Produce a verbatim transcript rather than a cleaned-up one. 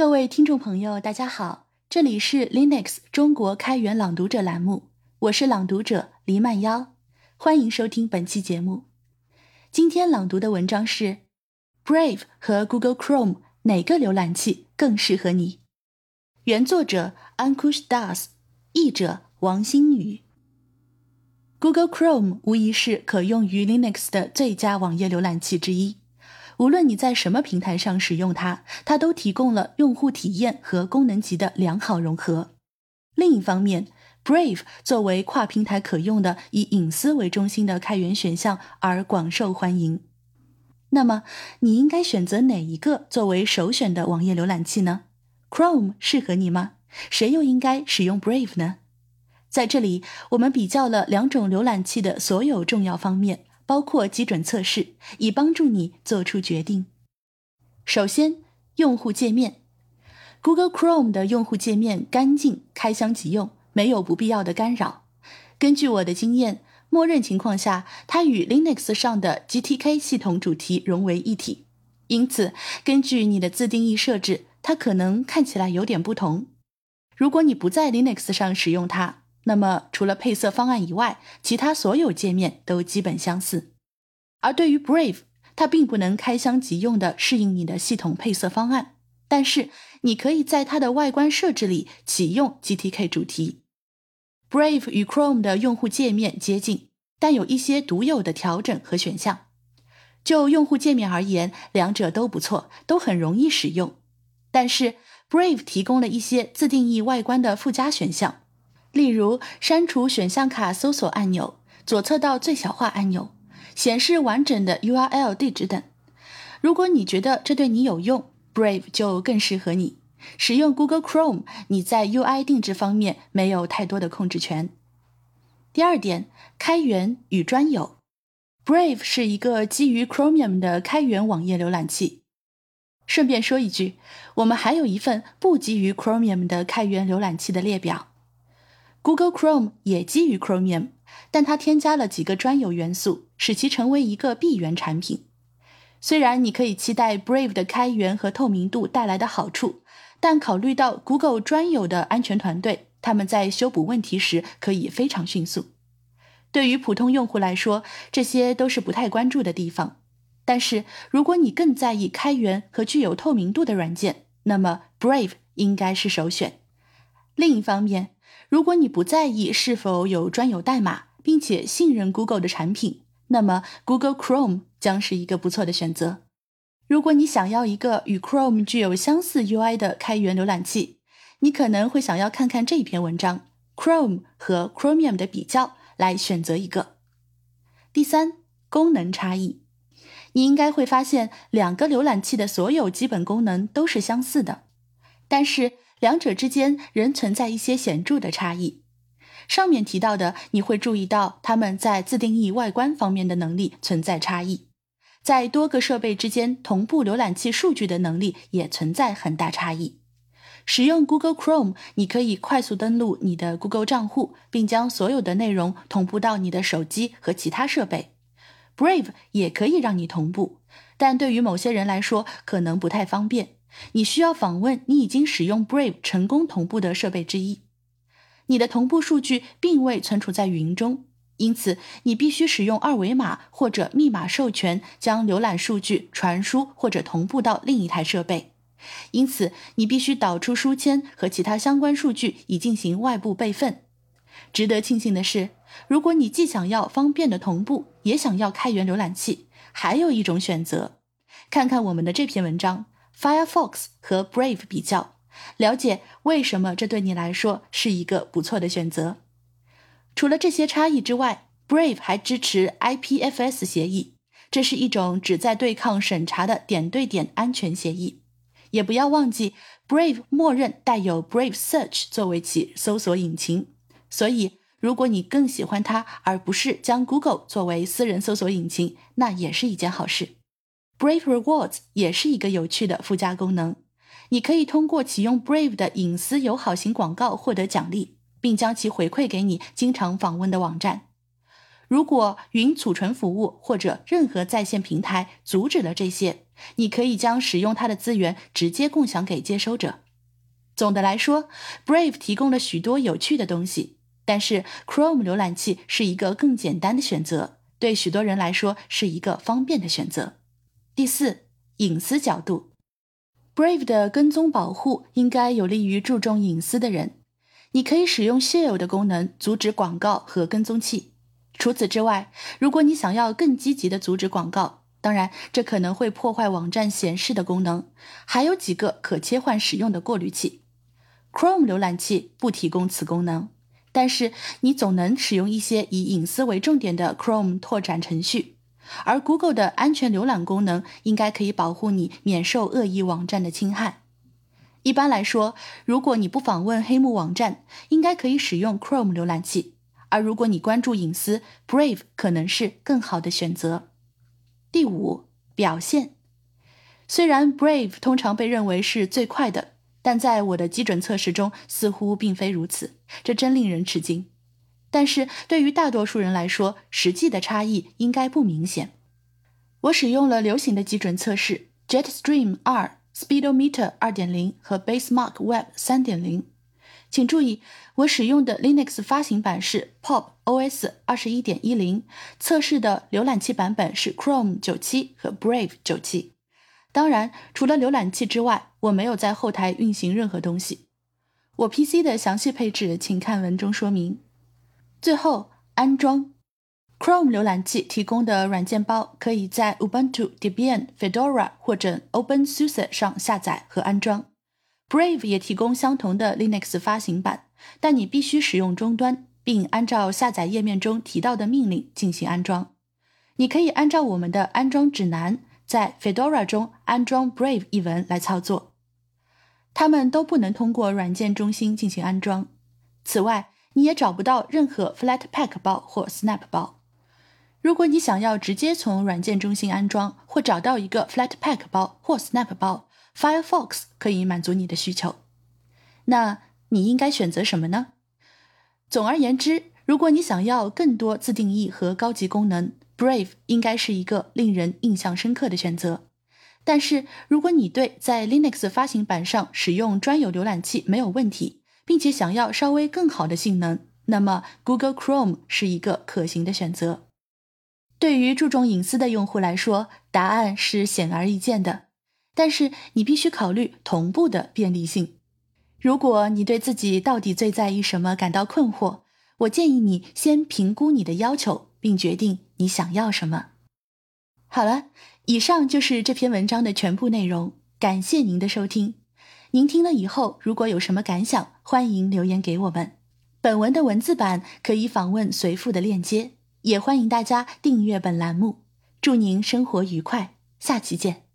各位听众朋友，大家好，这里是 Linux 中国开源朗读者栏目，我是朗读者黎曼妖，欢迎收听本期节目。今天朗读的文章是 Brave 和 Google Chrome 哪个浏览器更适合你？原作者 Ankush Das， 译者王新宇。Google Chrome 无疑是可用于 Linux 的最佳网页浏览器之一，无论你在什么平台上使用它，它都提供了用户体验和功能级的良好融合。另一方面， Brave 作为跨平台可用的以隐私为中心的开源选项而广受欢迎。那么，你应该选择哪一个作为首选的网页浏览器呢？ Chrome 适合你吗？谁又应该使用 Brave 呢？在这里，我们比较了两种浏览器的所有重要方面，包括基准测试，以帮助你做出决定。首先，用户界面。 Google Chrome 的用户界面干净，开箱即用，没有不必要的干扰。根据我的经验，默认情况下，它与 Linux 上的 G T K 系统主题融为一体，因此根据你的自定义设置，它可能看起来有点不同。如果你不在 Linux 上使用它，那么除了配色方案以外，其他所有界面都基本相似。而对于 Brave， 它并不能开箱即用的适应你的系统配色方案，但是你可以在它的外观设置里启用 G T K 主题。 Brave 与 Chrome 的用户界面接近，但有一些独有的调整和选项。就用户界面而言，两者都不错，都很容易使用。但是 Brave 提供了一些自定义外观的附加选项，例如删除选项卡搜索按钮、左侧到最小化按钮、显示完整的 U R L 地址等。如果你觉得这对你有用， Brave 就更适合你。使用 Google Chrome， 你在 U I 定制方面没有太多的控制权。第二点，开源与专有。 Brave 是一个基于 Chromium 的开源网页浏览器。顺便说一句，我们还有一份不基于 Chromium 的开源浏览器的列表。Google Chrome 也基于 Chromium， 但它添加了几个专有元素，使其成为一个闭源产品。虽然你可以期待 Brave 的开源和透明度带来的好处，但考虑到 Google 专有的安全团队，他们在修补问题时可以非常迅速。对于普通用户来说，这些都是不太关注的地方。但是如果你更在意开源和具有透明度的软件，那么 Brave 应该是首选。另一方面，如果你不在意是否有专有代码，并且信任 Google 的产品，那么 Google Chrome 将是一个不错的选择。如果你想要一个与 Chrome 具有相似 U I 的开源浏览器，你可能会想要看看这篇文章 Chrome 和 Chromium 的比较，来选择一个。第三，功能差异。你应该会发现两个浏览器的所有基本功能都是相似的，但是两者之间仍存在一些显著的差异。上面提到的，你会注意到它们在自定义外观方面的能力存在差异，在多个设备之间同步浏览器数据的能力也存在很大差异。使用 Google Chrome， 你可以快速登录你的 Google 账户，并将所有的内容同步到你的手机和其他设备。Brave 也可以让你同步，但对于某些人来说可能不太方便。你需要访问你已经使用 Brave 成功同步的设备之一。你的同步数据并未存储在云中，因此你必须使用二维码或者密码授权将浏览数据传输或者同步到另一台设备。因此你必须导出书签和其他相关数据以进行外部备份。值得庆幸的是，如果你既想要方便的同步，也想要开源浏览器，还有一种选择。看看我们的这篇文章 Firefox 和 Brave 比较，了解为什么这对你来说是一个不错的选择。除了这些差异之外， Brave 还支持 I P F S 协议，这是一种旨在对抗审查的点对点安全协议。也不要忘记 Brave 默认带有 Brave Search 作为其搜索引擎，所以如果你更喜欢它而不是将 Google 作为私人搜索引擎，那也是一件好事。Brave Rewards 也是一个有趣的附加功能，你可以通过启用 Brave 的隐私友好型广告获得奖励，并将其回馈给你经常访问的网站。如果云储存服务或者任何在线平台阻止了这些， 你可以将使用它的资源直接共享给接收者。总的来说 Brave 提供了许多有趣的东西，但是 Chrome 浏览器是一个更简单的选择，对许多人来说是一个方便的选择。第四，隐私角度。 Brave 的跟踪保护应该有利于注重隐私的人。你可以使用 Share 的功能阻止广告和跟踪器。除此之外，如果你想要更积极的阻止广告，当然这可能会破坏网站显示的功能，还有几个可切换使用的过滤器。Chrome 浏览器不提供此功能，但是你总能使用一些以隐私为重点的 Chrome 拓展程序，而 Google 的安全浏览功能应该可以保护你免受恶意网站的侵害。一般来说，如果你不访问黑幕网站，应该可以使用 Chrome 浏览器，而如果你关注隐私， Brave 可能是更好的选择。第五，表现。虽然 Brave 通常被认为是最快的，但在我的基准测试中似乎并非如此，这真令人吃惊。但是对于大多数人来说，实际的差异应该不明显。我使用了流行的基准测试 Jetstream 二、Speedometer 二点零 和 Basemark Web 三点零。请注意，我使用的 Linux 发行版是 Pop O S 二十一点一零， 测试的浏览器版本是 Chrome 九七和 Brave 九七。当然，除了浏览器之外，我没有在后台运行任何东西。我 P C 的详细配置请看文中说明。最后，安装。Chrome 浏览器提供的软件包可以在 Ubuntu、Debian、Fedora 或者 OpenSUSE 上下载和安装。Brave 也提供相同的 Linux 发行版，但你必须使用终端，并按照下载页面中提到的命令进行安装。你可以按照我们的安装指南，在 Fedora 中安装 Brave 一文来操作。它们都不能通过软件中心进行安装。此外，你也找不到任何 Flatpak 包或 Snap 包。如果你想要直接从软件中心安装，或找到一个 Flatpak 包或 Snap 包， Firefox 可以满足你的需求。那你应该选择什么呢？总而言之，如果你想要更多自定义和高级功能， Brave 应该是一个令人印象深刻的选择。但是如果你对在 Linux 发行版上使用专有浏览器没有问题，并且想要稍微更好的性能，那么 Google Chrome 是一个可行的选择。对于注重隐私的用户来说，答案是显而易见的，但是你必须考虑同步的便利性。如果你对自己到底最在意什么感到困惑，我建议你先评估你的要求，并决定你想要什么。好了，以上就是这篇文章的全部内容，感谢您的收听。您听了以后，如果有什么感想，欢迎留言给我们。本文的文字版可以访问随附的链接，也欢迎大家订阅本栏目。祝您生活愉快，下期见。